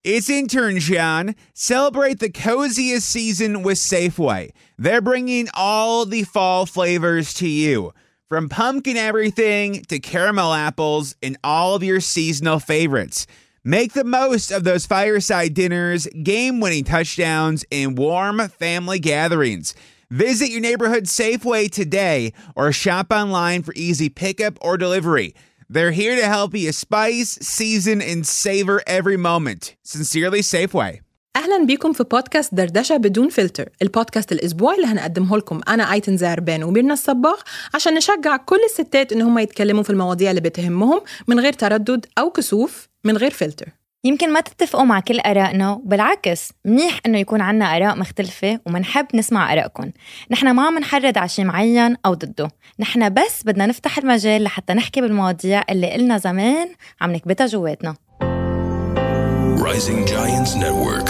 It's intern John. Celebrate the coziest season with Safeway. They're bringing all the fall flavors to you. From pumpkin everything to caramel apples and all of your seasonal favorites. Make the most of those fireside dinners, game-winning touchdowns, and warm family gatherings. Visit your neighborhood Safeway today or shop online for easy pickup or delivery. They're here to help you spice, season, and savor every moment. Sincerely, Safeway. أهلا بيكم في بودكاست دردشة بدون فلتر، البودكاست الأسبوعي اللي هنقدمه لكم أنا أيتن زعربان وميرنا الصباغ عشان نشجع كل الستات إن هم يتكلموا في المواضيع اللي بتهمهم من غير تردد أو كسوف، من غير فلتر. يمكن ما تتفقوا مع كل آرائنا، بالعكس منيح إنه يكون عنا آراء مختلفة ومنحب نسمع آرائكم. نحن ما منحرض على شيء معين أو ضده، نحن بس بدنا نفتح المجال لحتى نحكي بالمواضيع اللي قلنا زمان عم نكبتها جواتنا. Rising Giants Network.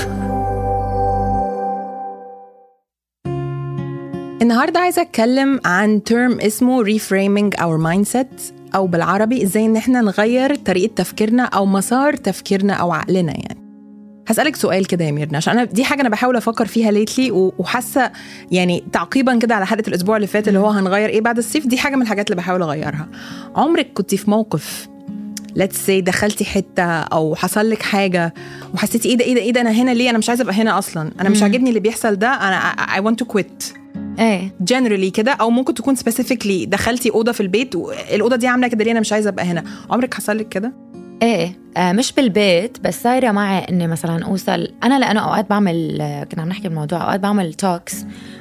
النهاردة عايزة أتكلم عن term اسمه reframing our mindset، أو بالعربي إزاي إن إحنا نغير طريقة تفكيرنا أو مسار تفكيرنا أو عقلنا. يعني هسألك سؤال كده يا ميرنا، عشان أنا دي حاجة أنا بحاول أفكر فيها ليتلي، وحاسة يعني تعقيبا كده على حلقة الأسبوع اللي فات اللي هو هنغير إيه بعد الصيف، دي حاجة من الحاجات اللي بحاول أغيرها. عمرك كنت في موقف let's say دخلتي حتة أو حصل لك حاجة وحسيتي إيه ده أنا هنا ليه؟ أنا مش عايزة أبقى هنا أصلا، أنا مش عاجبني اللي بيحصل ده، أنا I want to quit. generally كده، أو ممكن تكون specifically دخلتي أوضة في البيت والأوضة دي عاملة كده ليه، أنا مش عايزة أبقى هنا. عمرك حصل لك كده؟ مش بالبيت، بس صايرة معي إني مثلا أوصل أنا، لأنه أوقات بعمل، كنا عم نحكي الموضوع، أوقات بعمل توكس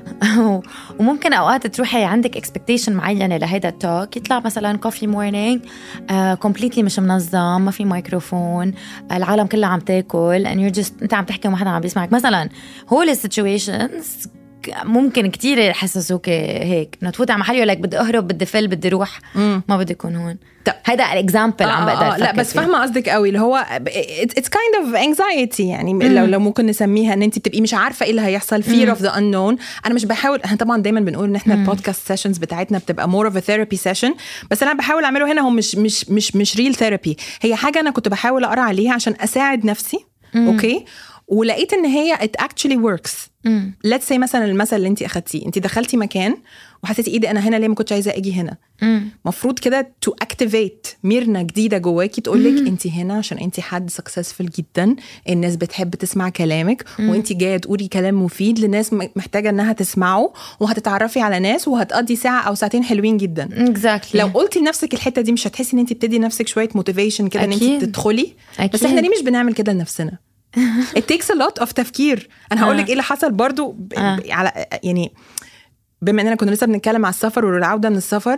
وممكن أوقات تروحي عندك expectation معينة لهيدا التوك، يطلع مثلا coffee morning completely مش منظم، ما في ميكروفون، العالم كلها عم تاكل and you're just أنت عم تحكي وما حدا عم بيسمعك مثلا. هول السيتويشنز ممكن كتير يحسسوك هيك انه تفوت على محل يقول لك بدي اهرب، بدي فل، بدي روح، ما بدي يكون هون. هيدا الاكزامبل عم بقدر لا بس فاهمه قصدك قوي، اللي هو it's kind of anxiety يعني. لو ممكن نسميها ان انت بتبقي مش عارفه ايه اللي هيحصل، fear of the unknown. انا مش بحاول، احنا طبعا دايما بنقول ان احنا البودكاست سيشنز بتاعتنا بتبقى more of a therapy session، بس انا بحاول اعمله هنا هو مش real therapy، هي حاجه انا كنت بحاول اقرا عليها عشان اساعد نفسي. اوكي، ولقيت ان هي it actually works. let's say مثلا المثل اللي انت اخدتيه، انت دخلتي مكان وحسيتي ايه ده انا هنا ليه، ما كنتش عايزه اجي هنا. مفروض كده to activate ميرنا جديده جواكي تقولك انت هنا عشان انت حد successful جدا، الناس بتحب تسمع كلامك، وانت جايه تقولي كلام مفيد لناس محتاجه انها تسمعه، وهتتعرفي على ناس وهتقضي ساعه او ساعتين حلوين جدا. exactly. لو قلتي لنفسك الحته دي مش هتحسي ان انت بتدي نفسك شويه motivation كده ان انت تدخلي. بس احنا ليه مش بنعمل كده لنفسنا؟ it takes a lot of تفكير. انا هقولك ايه اللي حصل برضو على يعني بما اننا كنا لسه بنتكلم على السفر والعودة من السفر.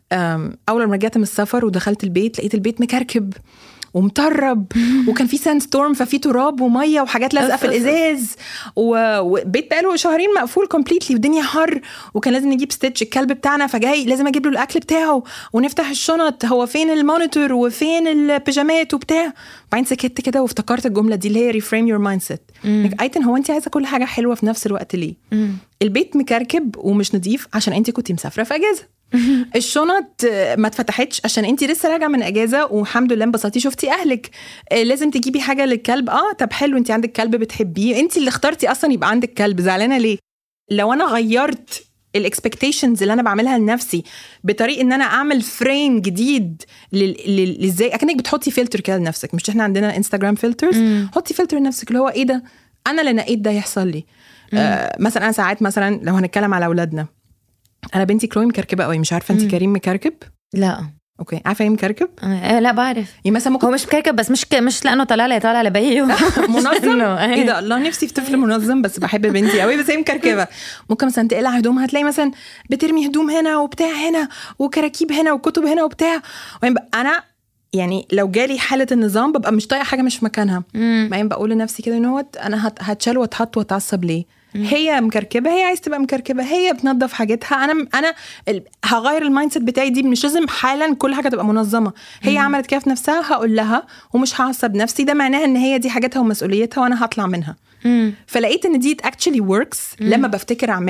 اول ما رجعت من السفر ودخلت البيت لقيت البيت مكركب ومطرب وكان في ساند ستورم، ففي تراب وميه وحاجات لازقه في الازاز، وبيت بقاله شهرين مقفول كومبليتلي والدنيا حر، وكان لازم نجيب ستيتش الكلب بتاعنا، فجاي لازم اجيب له الاكل بتاعه ونفتح الشنط، هو فين المونيتور وفين البيجامات وبتاع. بعدين سكت كده وافتكرت الجمله دي اللي هي ريفريم يور مايند سيت. ايتن هو انت عايزه كل حاجه حلوه في نفس الوقت ليه؟ البيت مكركب ومش نظيف عشان انت كنتي مسافره في اجازه، الشنط ما اتفتحتش عشان انتي لسه راجعه من اجازه والحمد لله انبسطتي شفتي اهلك، لازم تجيبي حاجه للكلب. طب حلو، انتي عندك كلب بتحبيه، انتي اللي اخترتي اصلا يبقى عندك كلب، زعلانه ليه؟ لو انا غيرت الاكسبكتيشنز اللي انا بعملها لنفسي بطريقه ان انا اعمل فريم جديد ازاي اكنك بتحطي فلتر كده لنفسك، مش احنا عندنا انستغرام فلترز، حطي فلتر لنفسك اللي هو ايه ده انا اللي نقيت ده يحصل لي. مثلا انا ساعات مثلا لو هنتكلم على اولادنا، انا بنتي كلوي مكركبه قوي، مش عارفه انت كريم مكركب؟ لا. اوكي، عارفه ايه مكركب؟ لا بعرف. يعني مثلا ممكن هو مش مكركب، بس مش لانه طالع لبيه منظم. ايه ده، الله نفسي في طفل منظم، بس بحب بنتي قوي، بس هي مكركبه. ممكن مثلا تقلع هدومها هتلاقي مثلا بترمي هدوم هنا وبتاع هنا وكراكيب هنا وكتب هنا وبتاع. انا يعني لو جالي حاله النظام ببقى مش طايقه حاجه مش في مكانها. بعدين بقول لنفسي كده ان هو انا هتشال واتحط واتعصب ليه؟ هي مكركبه، هي عايز تبقى مكركبه، هي بتنظف حاجتها، انا هغير المايند سيت بتاعي دي، مش لازم حالا كل حاجه تبقى منظمه. هي عملت كده في نفسها، هقول لها ومش هعصب نفسي، ده معناها ان هي دي حاجتها ومسؤوليتها وانا هطلع منها. فلقيت ان دي actually works لما بفتكر اعملها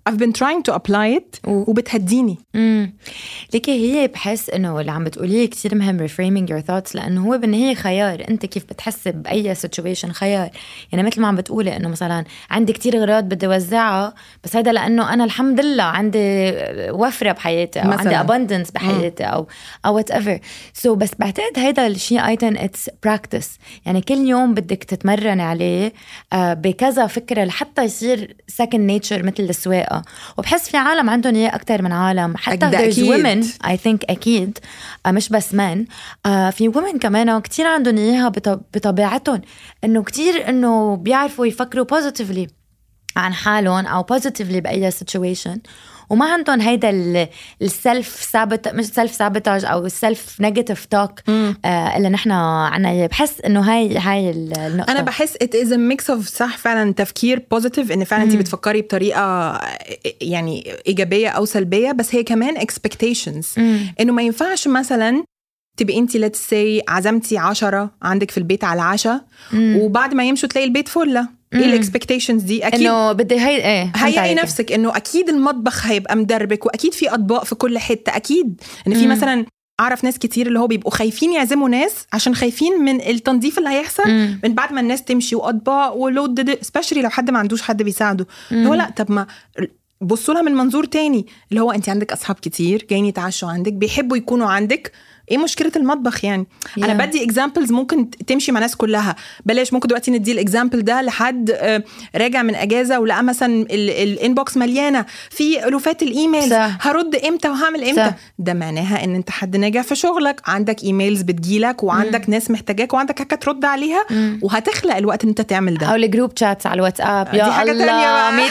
I've been trying to apply it وبتهديني. ليكي هي بحس إنه اللي عم بتقوليه كتير مهم reframing your thoughts، لأنه هو بالنهاية خيار. أنت كيف بتحس بأي situation خيار. يعني مثل ما عم بتقولي إنه مثلا عندي كتير أغراض بدي وزعها، بس هذا لأنه أنا الحمد لله عندي وفرة بحياتي أو مثلاً عندي abundance بحياتي أو whatever. So بس بعتقد هيدا الشيء أيضا it's practice. يعني كل يوم بدك تتمرن عليه بكذا فكرة لحتى يصير second nature مثل السواقة. وبحس في عالم عندهم إياه أكتر من عالم، حتى there's women I think أكيد مش بس men. في women كمان كتير عندهم إياها بطبيعتهم، إنه كتير إنه بيعرفوا يفكروا positively عن حالهم أو positively بأي situation، وما عندهم هيدا السلف سابت مش سلف سابتاج أو السلف نيجاتيف توك اللي نحن عنا. بحس إنه هاي النقطة. أنا بحس it is a mix of صح فعلا تفكير positive، إن فعلا أنت بتفكري بطريقة يعني إيجابية أو سلبية، بس هي كمان expectations. إنه ما ينفعش مثلا تبقي انتي let's say عزمتي 10 عندك في البيت على عشاء، وبعد ما يمشوا تلاقي البيت فله. ايه الاكسبكتيشنز دي؟ اكيد انه بدي هيئي نفسك انه اكيد المطبخ هيبقى مدربك، واكيد في اطباق في كل حته، اكيد ان في مثلا اعرف ناس كتير اللي هو بيبقوا خايفين يعزموا ناس عشان خايفين من التنظيف اللي هيحصل من بعد ما الناس تمشي، واطباق ولود especially لو حد ما عندوش حد بيساعده. هو لا، طب ما بصوا لها من منظور تاني، اللي هو انت عندك اصحاب كتير جايين يتعشوا عندك، بيحبوا يكونوا عندك، ايه مشكله المطبخ يعني؟ انا بدي اكزامبلز ممكن تمشي مع ناس كلها. بلاش ممكن دلوقتي ندي الاكزامبل ده لحد راجع من اجازه ولقى مثلا الانبوكس مليانه في الوفات الايميلز، هرد امتى وهعمل امتى؟ ده معناها ان انت حد ناجح في شغلك، عندك ايميلز بتجيلك وعندك ناس محتاجاك وعندك حاجه ترد عليها، وهتخلق الوقت ان انت تعمل ده. او الجروب شاتس على الواتساب، يا حاجه ثانيه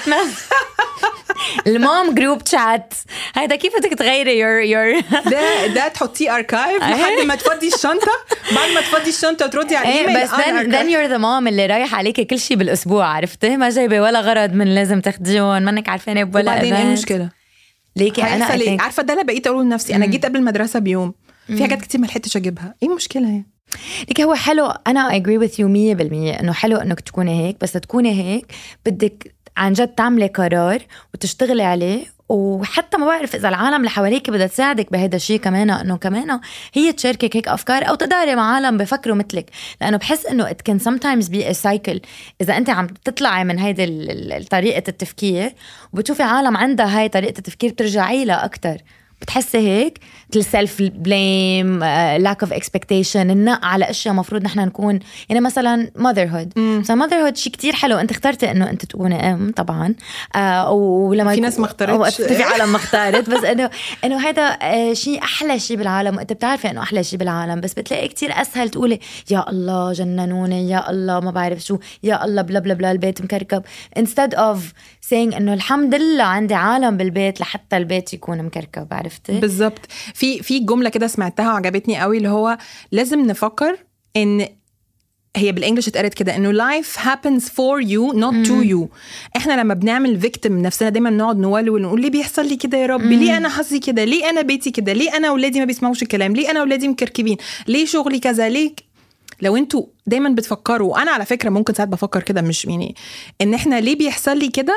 المام جروب شات، هيدا كيف بدك تغيري يور ده تحطيه اركايف لحد ما تفضي الشنطه، بعد ما تفضي الشنطه وتردي على الايميل. بس then you're the mom اللي رايح عليكي كل شيء بالاسبوع، عرفتي؟ ما جايبه ولا غرض من لازم تاخديهم، منك عارفينه بولا. وبعدين ايه المشكله؟ ليكي انا عارفه ده اللي بقيت اقول لنفسي، انا جيت قبل المدرسه بيوم في حاجات كتير ما لحقتش اجيبها، ايه المشكله يعني؟ ليك هو حلو، انا I agree with you 100% انه حلو انك تكوني هيك، بس تكوني هيك بدك عن جد تعملي قرار وتشتغلي عليه. وحتى ما بعرف إذا العالم اللي حواليك بدها تساعدك بهذا الشيء كمان، إنه كمان هي تشاركك هيك أفكار أو تداري مع عالم بفكروا مثلك، لأنه بحس إنه it can sometimes be a cycle. إذا أنت عم تطلعي من هيدا طريقة التفكير وبتشوفي عالم عندها هاي طريقة التفكير بترجعي لها أكتر، بتحسي هيك self blame, lack of expectation، النق على أشياء مفروض نحن نكون. يعني مثلا motherhood، motherhood شيء كتير حلو، أنت اخترتي إنه أنت تكوني أم طبعا، ولما في ناس ما اختارتش، في عالم ما اختارت، بس إنه هذا شيء أحلى شيء بالعالم، وأنت بتعرفي إنه أحلى شيء بالعالم، بس بتلاقي كتير أسهل تقولي يا الله جننوني، يا الله ما بعرف شو، يا الله بلا بلا بلا البيت مكركب، instead of saying إنه الحمد لله عندي عالم بالبيت لحتى البيت يكون مكركب. عرفتي؟ بالضبط. في جملة كده سمعتها وعجبتني قوي، اللي هو لازم نفكر ان هي بالانجلش اتقالت كده، انه life happens for you not to you. احنا لما بنعمل victim نفسنا دايما نقعد نولول ونقول ليه بيحصل لي كده يا ربي، ليه انا حظي كده، ليه انا بيتي كده، ليه انا اولادي ما بيسمعوش الكلام، ليه انا اولادي مكركبين، ليه شغلي كذا، ليه. لو انتوا دايما بتفكروا، وانا على فكره ممكن ساعات بفكر كده، مش يعني ان احنا ليه بيحصل لي كده،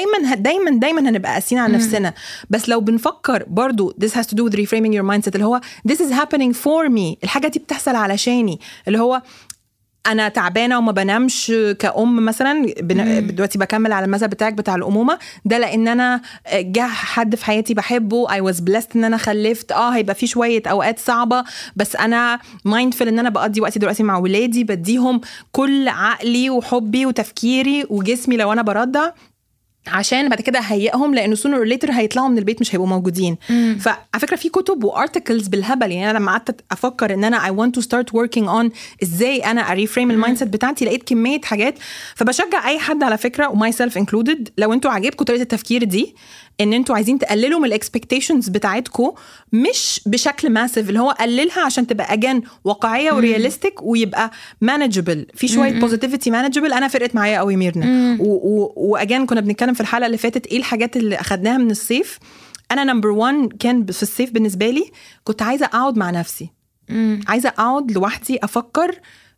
دايما هنبقى قاسيين على نفسنا. بس لو بنفكر برضو this has to do with reframing your mindset، اللي هو this is happening for me، الحاجه دي بتحصل علشاني، اللي هو انا تعبانه وما بنامش كأم مثلا، دلوقتي بكمل على المثل بتاعك بتاع الأمومة ده، لان انا جه حد في حياتي بحبه، I was blessed ان انا خلفت، هيبقى في شويه اوقات صعبه، بس انا mindful ان انا بقضي وقتي دلوقتي مع ولادي، بديهم كل عقلي وحبي وتفكيري وجسمي لو انا برضع، عشان بعد كده هيئهم، لانه sooner or later هيطلعوا من البيت مش هيبقوا موجودين. فعلى فكره في كتب وارتكلز بالهبل، يعني انا لما قعدت افكر ان انا I want to start working on ازاي انا اريفريم المايند سيت بتاعتي، لقيت كميه حاجات. فبشجع اي حد على فكره وماي سيلف انكلودد، لو انتوا عاجبكم طريقه التفكير دي، ان انتوا عايزين تقللوا من الاكسبكتيشنز بتاعتكم، مش بشكل ماسيف، اللي هو قللها عشان تبقى اجان واقعيه ورياليستيك، ويبقى مانجبل، في شويه بوزيتيفيتي مانجبل. انا فرقت معايا قوي ميرنا، واجان كنا بنتكلم في الحلقه اللي فاتت ايه الحاجات اللي اخدناها من الصيف. انا نمبر 1 كان في الصيف بالنسبه لي، كنت عايزه اقعد مع نفسي، عايزه اقعد لوحدي افكر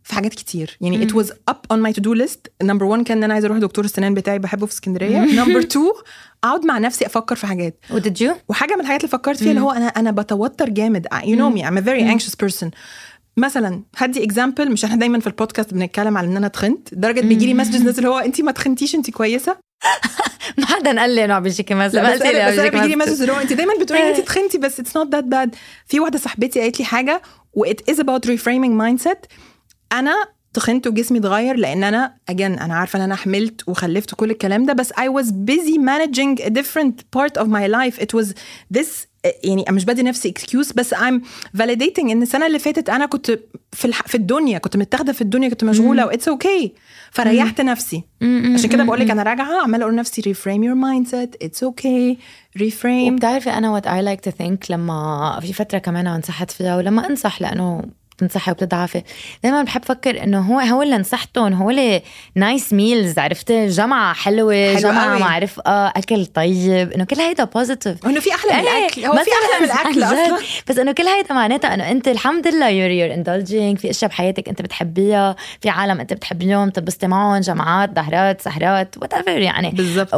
في حاجات كتير يعني. it was up on my to do list. number 1 كان انا عايزه اروح دكتور السنان بتاعي بحبه في اسكندريه. number 2 اقعد مع نفسي افكر في حاجات. وحاجه من الحاجات اللي فكرت فيها اللي هو انا بتوتر جامد. you know me I'm a very anxious person. مثلا هدي example، مش احنا دايما في البودكاست بنتكلم على ان انا تخنت درجه بيجي لي مسج ناس اللي هو انتي ما تخنتيش انتي كويسه. ما حدا قال لي انه بيجيكي مسج، بس بيجي لي مسج اللي هو انتي دايما بتقولي انتي تخنتي بس it's not that bad. في واحده صاحبتي قالت لي حاجه و it is about reframing mindset. انا تخنت وجسمي اتغير لان انا انا عارفه ان انا حملت وخلفت كل الكلام ده، بس I was busy managing a different part of my life. it was this يعني مش بدي نفسي excuse، بس I'm validating ان السنه اللي فاتت انا كنت في الدنيا، كنت متاخده في الدنيا، كنت مشغوله و it's okay. فريحت نفسي. عشان كده بقول لك انا راجعه عماله اقول لنفسي reframe your mindset, it's okay, reframe. وبتعرفي انا what I like to think لما في فتره كمان انصحت فيها، ولما انصح لانه تنصحي وبتضعفي دايما بحب فكر انه هو اللي نصحتهم هو اللي نايس ميلز، عرفتي، جمعة حلوة جمعة قوي. ما عارف اكل طيب، انه كل هيدا بوزيتيف، انه في احلى من الاكل، هو في احلى من الاكل اصلا، بس انه كل هيدا معناتها انه انت الحمد لله you're indulging في اشياء بحياتك انت بتحبيها، في عالم انت بتحبيهم تبسطي معهم، جمعات، ظهرات، سهرات whatever يعني بالضبط.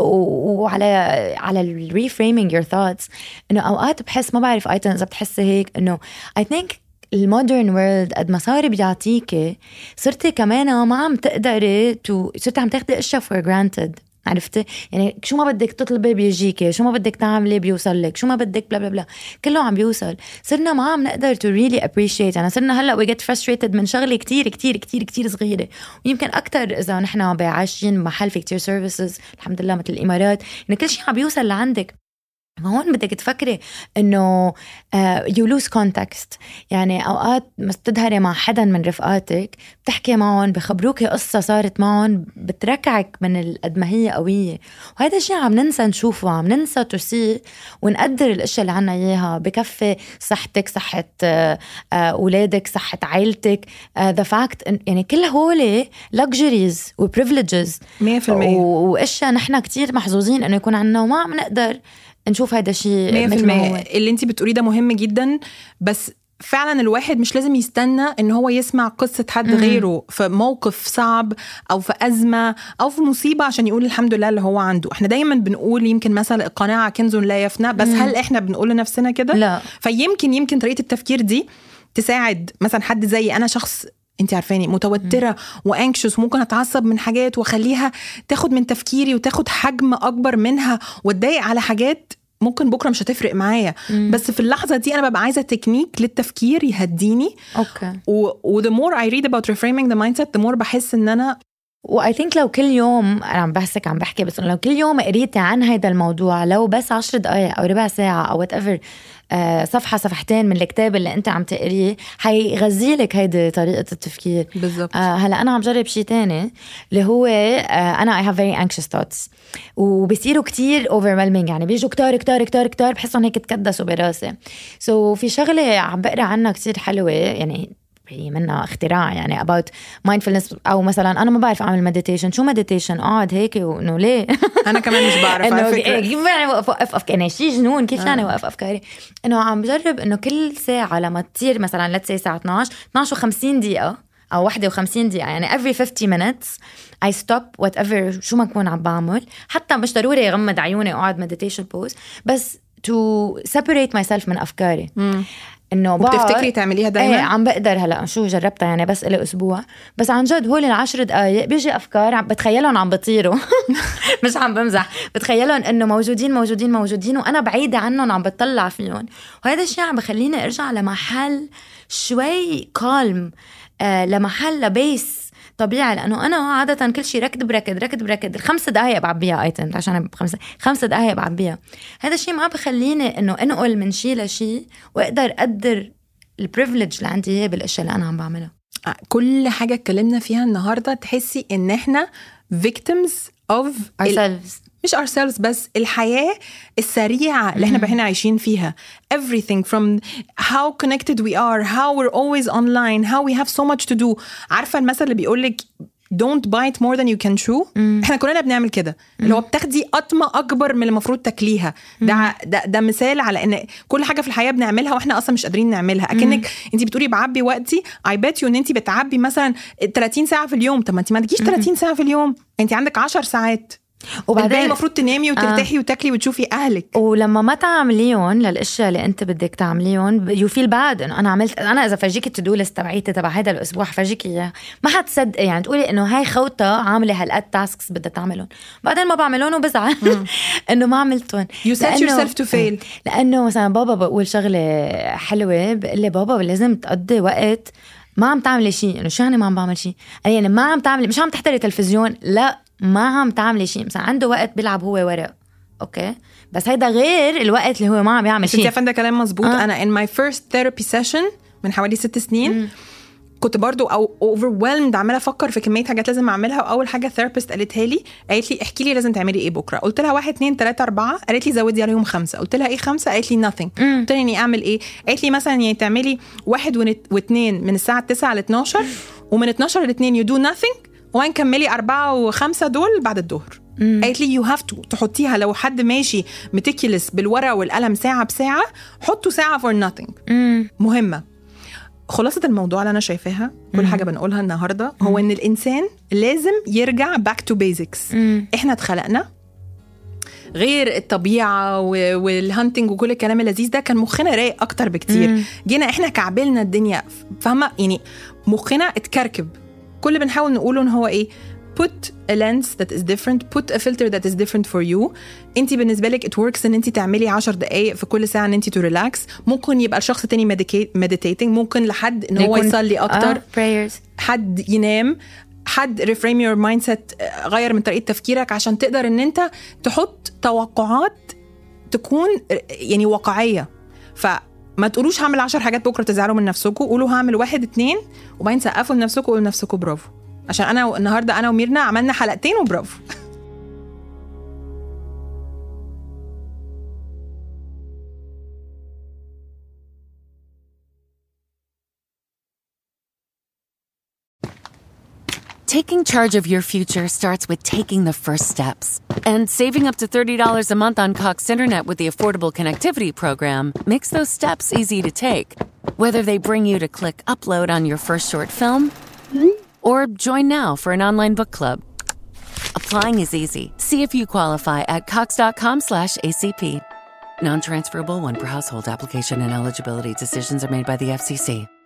وعلى reframing your thoughts انه اوقات بحس ما بعرف ايتن اذا بتحسي هيك انه I think المودرن وورلد قد ما صار بيعطيكي صرتي كمان ما عم تقدري صرتي عم تاخدي اشياء for granted، عرفتي يعني شو ما بدك تطلبي بيجيكي، شو ما بدك تعملي بيوصل لك، شو ما بدك بلا بلا بلا كله عم بيوصل. صرنا ما عم نقدر to really appreciate، يعني صرنا هلا we get frustrated من شغله كتير كتير كتير كتير صغيره، ويمكن اكتر اذا نحن عايشين محل في كتير services الحمد لله مثل الامارات ان كل شيء عم بيوصل لعندك. هون بدك تفكري انه you lose context، يعني اوقات ما تظهري مع حدا من رفقاتك بتحكي معهم بخبروكي قصة صارت معهم بتركعك من قد ما هي قوية، وهذا الشيء عم ننسى نشوفه، عم ننسى تسيء ونقدر الاشياء اللي عنا اياها، بكفي صحتك، صحة اولادك، صحة عائلتك، the fact يعني كل هولي luxuries و privileges 100% واشياء نحن كتير محظوظين انه يكون عنا وما عم نقدر نشوف هذا الشيء. 100% اللي انتي بتقوليه ده مهم جدا، بس فعلا الواحد مش لازم يستنى ان هو يسمع قصة حد غيره في موقف صعب او في أزمة او في مصيبة عشان يقول الحمد لله اللي هو عنده. احنا دايما بنقول يمكن مثلا القناعة كنز لا يفنى، بس هل احنا بنقول لنفسنا كده؟ لا. فيمكن طريقة التفكير دي تساعد مثلا حد زي انا، شخص انت عارفاني متوترة وانكشوس، ممكن اتعصب من حاجات واخليها تاخد من تفكيري وتاخد حجم اكبر منها واتضايق على حاجات ممكن بكرة مش هتفرق معايا، بس في اللحظة دي أنا ببقى عايزة تكنيك للتفكير يهديني. أوكي. و the more I read about reframing the mindset the more بحس إن أنا I think لو كل يوم أنا عم بحكي بس لو كل يوم قريتي عن هذا الموضوع، لو بس 10 دقايق أو ربع ساعة أو whatever صفحة صفحتين من الكتاب اللي أنت عم تقريه هيغذيلك هيدي طريقة التفكير. بالضبط. هلأ أنا عم جرب شيء تاني اللي هو أنا I have very anxious thoughts وبيصيروا كتير overwhelming، يعني بيجوا كتار بحسهم هيك تكدسوا براسي. في شغلة عم بقرأ عنها كتير حلوة، يعني هي منها اختراع يعني about mindfulness، أو مثلا أنا ما بعرف أعمل meditation. شو meditation؟ قاعد هيك وإنه ليه أنا كمان مش بعرف على فكرة كيف يعني وقف أفكاري، يعني شيء جنون كيف يعني وقف أفكاري. إنه عم بجرب إنه كل ساعة لما تصير مثلا let's say الساعة 12 و50 دقيقة أو 51 دقيقة، يعني every 50 minutes I stop whatever شو ما أكون عم بعمل، حتى مش ضروري أغمض عيوني وأقعد meditation pose، بس to separate myself من أفكاري. إنه بتفتكري تعمليها دايما؟ ايه عم بقدر هلا شو جربتها يعني بس إلي أسبوع، بس عن جد هول 10 دقايق بيجي أفكار بتخيلهم عم بطيروا مش عم بمزح، بتخيلهم إنه موجودين وأنا بعيدة عنهم عم بتطلع فيهم، وهذا الشيء عم بخليني أرجع لمحل شوي كالم، لمحل لبيس طبيعي، لأنه أنا عادة كل شيء ركض 5 دقايق بعبيها أيتن عشان 5 دقايق بعبيها. هذا الشيء ما بخليني إنه أنقل من شيء لشيء وأقدر أقدر البريفليج اللي عندي بالأشياء اللي أنا عم بعملها. كل حاجة اتكلمنا فيها النهاردة تحسي إن إحنا victims of ourselves، مش ourselves بس الحياة السريعة اللي احنا بقينا عايشين فيها. everything from how connected we are, how we're always online, how we have so much to do. عارفة المثل اللي بيقولك don't bite more than you can chew. احنا كلنا بنعمل كده، اللي هو بتاخدي قطمه اكبر من اللي المفروض تاكليها. ده مثال على ان كل حاجه في الحياه بنعملها واحنا اصلا مش قادرين نعملها. اكنك انت بتقولي بعبي وقتي، I bet you ان انت بتعبي مثلا 30 ساعه في اليوم. طب ما انت ما عندكيش 30 ساعه في اليوم، انت عندك 10 ساعات، وبعدين المفروض تنامي وترتاحي وتاكلي وتشوفي اهلك. ولما ما تعمليهم للاشياء اللي انت بدك تعمليهم يو فيل باد انه انا عملت. انا اذا فرجيك التو ليست تبعيتي تبع هذا الاسبوع فرجيك اياه ما حتصدق، يعني تقولي انه هاي خوته عامله هالقد تاسكس بدها تعملهم، بعدين ما بعملهم وبزعل انه ما عملتهم. you set yourself to fail. لانه مثلا بابا بقول شغله حلوه، بقول لي بابا لازم تقضي وقت ما عم تعملي شيء. انه شو يعني ما عم بعمل شيء؟ يعني ما عم تعملي، مش عم تحضري تلفزيون، لا ما عم تعملي شيء. مثلا عنده وقت بيلعب هو ورق، اوكي، بس هيدا غير الوقت اللي هو ما عم يعمل شيء. انت عارفه ده كلام مزبوط. انا in my first therapy session من حوالي 6 سنين كنت برضو overwhelmed، عماله افكر في كميه حاجات لازم اعملها. واول حاجه therapist قالت لي احكي لي لازم تعملي ايه بكره. قلت لها 1 2 3 4. قالت لي زودي عليهم 5. قلت لها ايه 5؟ قالت لي nothing. قلت لها اني اعمل ايه؟ قالت لي مثلا يعني تعملي 1 و2 من الساعه 9 ل 12، ومن 12 ل 2 you do nothing، وين كملي 4 و5 دول بعد الظهر. قالت لي you have to تحطيها، لو حد ماشي متكلس بالورقه والقلم ساعه بساعه، حطوا ساعه for nothing. مهمه. خلاصة الموضوع اللي أنا شايفاها كل حاجة بنقولها النهاردة هو إن الإنسان لازم يرجع back to basics. إحنا اتخلقنا غير الطبيعة والهانتنج وكل الكلام اللذيذ ده، كان مخنا رايق أكتر بكتير. جينا إحنا كعبلنا الدنيا، فاهمة يعني مخنا اتكركب. كل اللي بنحاول نقوله إن هو إيه؟ put a lens that is different, put a filter that is different for you. انتي بالنسبة لك it works ان انتي تعملي 10 دقايق في كل ساعة ان انتي to relax. ممكن يبقى الشخص تاني meditating، ممكن لحد ان هو يصلي اكتر، prayers. حد ينام، حد reframe your mindset، غير من طريقة تفكيرك عشان تقدر ان انت تحط توقعات تكون يعني واقعية. فما تقولوش هعمل 10 حاجات بكرة تزعلوا من نفسكم، قولوا هعمل 1 2 وبعدين سقفوا لنفسكم وقولوا لنفسكم برافو. عشان أنا النهاردة أنا وميرنا عملنا 2 حلقات وبرافو. Taking charge of your future starts with taking the first steps. And saving up to $30 a month on Cox Internet with the Affordable Connectivity Program makes those steps easy to take. Whether they bring you to click upload on your first short film or join now for an online book club. Applying is easy. See if you qualify at cox.com/ACP. Non-transferable 1 per household. Application and eligibility decisions are made by the FCC.